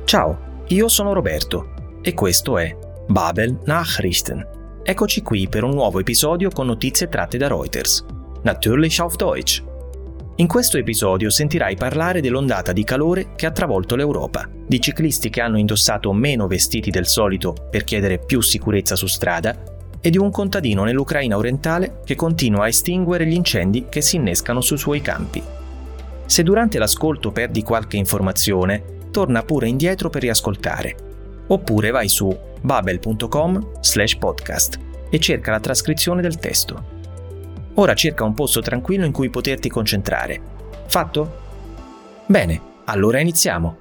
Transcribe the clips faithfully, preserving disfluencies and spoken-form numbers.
Ciao, io sono Roberto e questo è Babel Nachrichten. Eccoci qui per un nuovo episodio con notizie tratte da Reuters. Natürlich auf Deutsch. In questo episodio sentirai parlare dell'ondata di calore che ha travolto l'Europa, di ciclisti che hanno indossato meno vestiti del solito per chiedere più sicurezza su strada e di un contadino nell'Ucraina orientale che continua a estinguere gli incendi che si innescano sui suoi campi. Se durante l'ascolto perdi qualche informazione, torna pure indietro per riascoltare, oppure vai su babel punto com slash podcast e cerca la trascrizione del testo. Ora cerca un posto tranquillo in cui poterti concentrare. Fatto? Bene, allora iniziamo.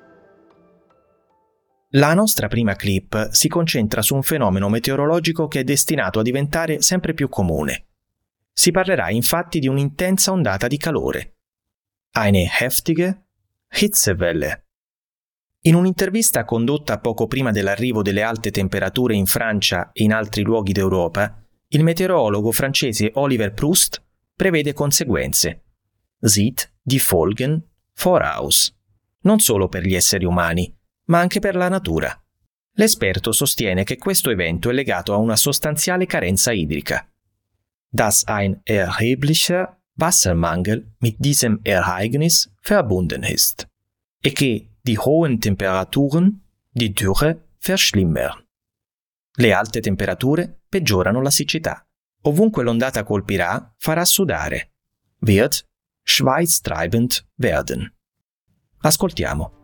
La nostra prima clip si concentra su un fenomeno meteorologico che è destinato a diventare sempre più comune. Si parlerà infatti di un'intensa ondata di calore. Eine heftige Hitzewelle. In un'intervista condotta poco prima dell'arrivo delle alte temperature in Francia e in altri luoghi d'Europa, il meteorologo francese Oliver Proust prevede conseguenze. Sieht die Folgen voraus. Non solo per gli esseri umani, ma anche per la natura. L'esperto sostiene che questo evento è legato a una sostanziale carenza idrica. Dass ein erheblicher Wassermangel mit diesem Ereignis verbunden ist. E che die hohen Temperaturen die Dürre verschlimmern. Le alte temperature peggiorano la siccità. Ovunque l'ondata colpirà, farà sudare. Wird schweißtreibend werden. Ascoltiamo.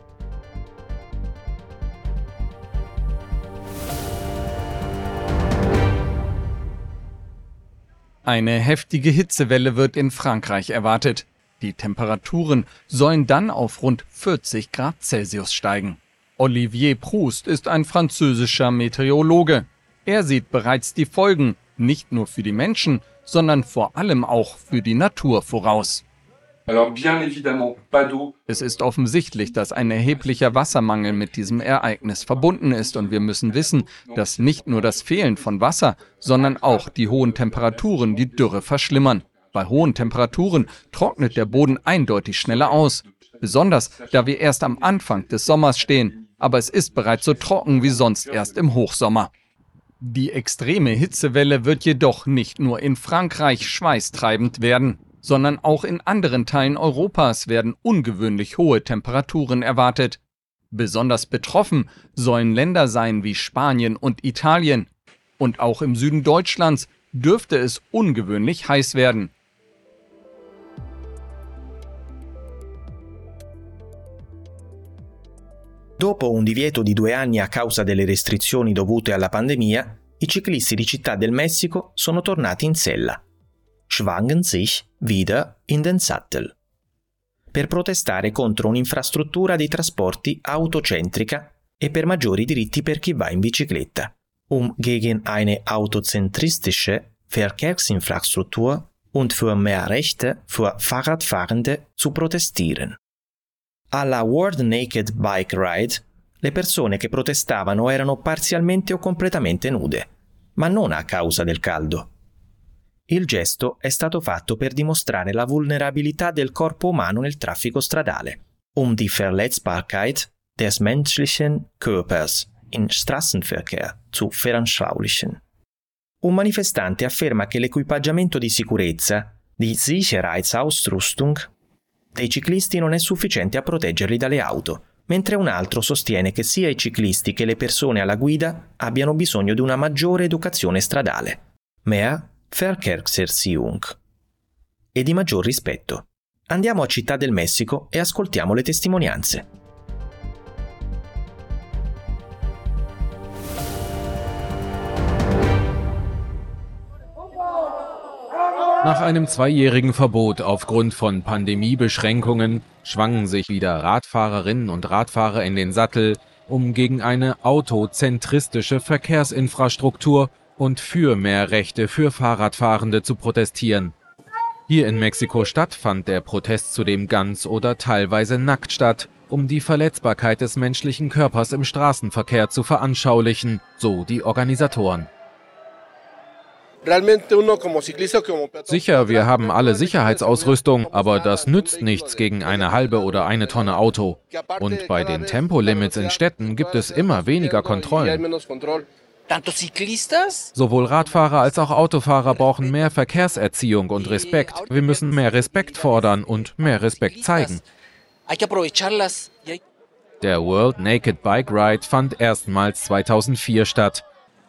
Eine heftige Hitzewelle wird in Frankreich erwartet. Die Temperaturen sollen dann auf rund vierzig Grad Celsius steigen. Olivier Proust ist ein französischer Meteorologe. Er sieht bereits die Folgen, nicht nur für die Menschen, sondern vor allem auch für die Natur voraus. Es ist offensichtlich, dass ein erheblicher Wassermangel mit diesem Ereignis verbunden ist und wir müssen wissen, dass nicht nur das Fehlen von Wasser, sondern auch die hohen Temperaturen die Dürre verschlimmern. Bei hohen Temperaturen trocknet der Boden eindeutig schneller aus, besonders da wir erst am Anfang des Sommers stehen, aber es ist bereits so trocken wie sonst erst im Hochsommer. Die extreme Hitzewelle wird jedoch nicht nur in Frankreich schweißtreibend werden, sondern auch in anderen Teilen Europas werden ungewöhnlich hohe Temperaturen erwartet. Besonders betroffen sollen Länder sein wie Spanien und Italien. Und auch im Süden Deutschlands dürfte es ungewöhnlich heiß werden. Dopo un divieto di due anni a causa delle restrizioni dovute alla pandemia, i ciclisti di Città del Messico sono tornati in sella. Schwangen sich wieder in den Sattel. Per protestare contro un'infrastruttura dei trasporti autocentrica e per maggiori diritti per chi va in bicicletta. Um gegen eine autozentristische Verkehrsinfrastruktur und für mehr Rechte für Fahrradfahrende zu protestieren. Alla World Naked Bike Ride, le persone che protestavano erano parzialmente o completamente nude, ma non a causa del caldo. Il gesto è stato fatto per dimostrare la vulnerabilità del corpo umano nel traffico stradale, um die Verletzbarkeit des menschlichen Körpers in Straßenverkehr zu veranschaulichen. Un manifestante afferma che l'equipaggiamento di sicurezza, di Sicherheitsausrüstung, dei ciclisti non è sufficiente a proteggerli dalle auto, mentre un altro sostiene che sia i ciclisti che le persone alla guida abbiano bisogno di una maggiore educazione stradale, mehr Verkehrserziehung, e di maggior rispetto. Andiamo a Città del Messico e ascoltiamo le testimonianze. Nach einem zweijährigen Verbot aufgrund von Pandemiebeschränkungen schwangen sich wieder Radfahrerinnen und Radfahrer in den Sattel, um gegen eine autozentristische Verkehrsinfrastruktur und für mehr Rechte für Fahrradfahrende zu protestieren. Hier in Mexiko-Stadt fand der Protest zudem ganz oder teilweise nackt statt, um die Verletzbarkeit des menschlichen Körpers im Straßenverkehr zu veranschaulichen, so die Organisatoren. Sicher, wir haben alle Sicherheitsausrüstung, aber das nützt nichts gegen eine halbe oder eine Tonne Auto. Und bei den Tempolimits in Städten gibt es immer weniger Kontrollen. Sowohl Radfahrer als auch Autofahrer brauchen mehr Verkehrserziehung und Respekt. Wir müssen mehr Respekt fordern und mehr Respekt zeigen. Der World Naked Bike Ride fand erstmals zweitausendvier statt.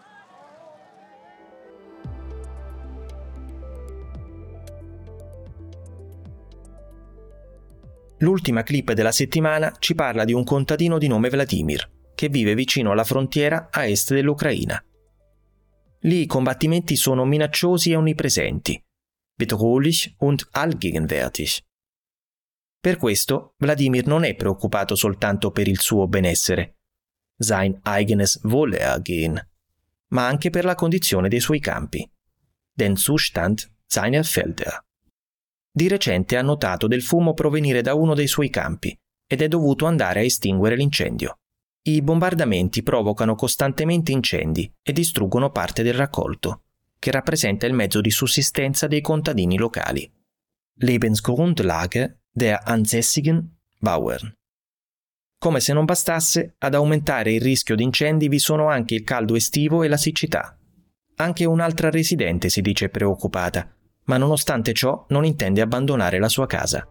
L'ultima clip della settimana ci parla di un contadino di nome Vladimir, che vive vicino alla frontiera a est dell'Ucraina. Lì i combattimenti sono minacciosi e onnipresenti, bedrohlich und allgegenwärtig. Per questo Vladimir non è preoccupato soltanto per il suo benessere, sein eigenes Wohlergehen, ma anche per la condizione dei suoi campi, den Zustand seiner Felder. Di recente ha notato del fumo provenire da uno dei suoi campi ed è dovuto andare a estinguere l'incendio. I bombardamenti provocano costantemente incendi e distruggono parte del raccolto, che rappresenta il mezzo di sussistenza dei contadini locali. Lebensgrundlage der ansässigen Bauern. Come se non bastasse, ad aumentare il rischio di incendi vi sono anche il caldo estivo e la siccità. Anche un'altra residente si dice preoccupata, ma nonostante ciò non intende abbandonare la sua casa.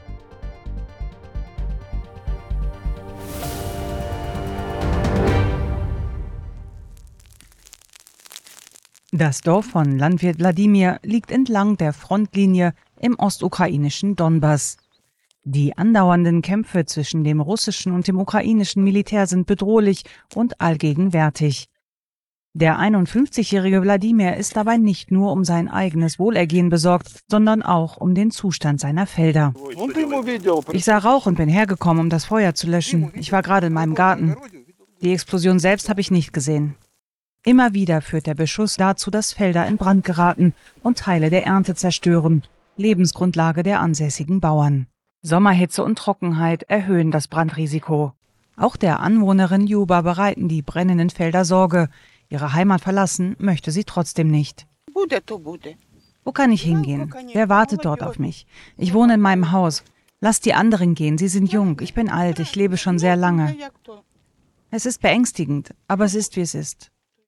Das Dorf von Landwirt Wladimir liegt entlang der Frontlinie im ostukrainischen Donbass. Die andauernden Kämpfe zwischen dem russischen und dem ukrainischen Militär sind bedrohlich und allgegenwärtig. Der einundfünfzigjährige Wladimir ist dabei nicht nur um sein eigenes Wohlergehen besorgt, sondern auch um den Zustand seiner Felder. Ich sah Rauch und bin hergekommen, um das Feuer zu löschen. Ich war gerade in meinem Garten. Die Explosion selbst habe ich nicht gesehen. Immer wieder führt der Beschuss dazu, dass Felder in Brand geraten und Teile der Ernte zerstören, Lebensgrundlage der ansässigen Bauern. Sommerhitze und Trockenheit erhöhen das Brandrisiko. Auch der Anwohnerin Juba bereiten die brennenden Felder Sorge. Ihre Heimat verlassen möchte sie trotzdem nicht. Wo kann ich hingehen? Wer wartet dort auf mich? Ich wohne in meinem Haus. Lasst die anderen gehen, sie sind jung. Ich bin alt, ich lebe schon sehr lange. Es ist beängstigend, aber es ist, wie es ist.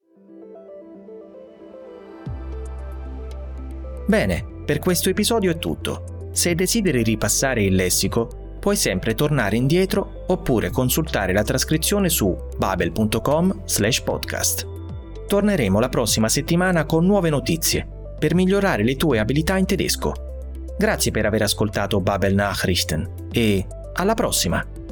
Bene, per questo episodio è tutto. Se desideri ripassare il lessico, puoi sempre tornare indietro oppure consultare la trascrizione su babel punto com slash podcast. Torneremo la prossima settimana con nuove notizie per migliorare le tue abilità in tedesco. Grazie per aver ascoltato Babel Nachrichten e alla prossima!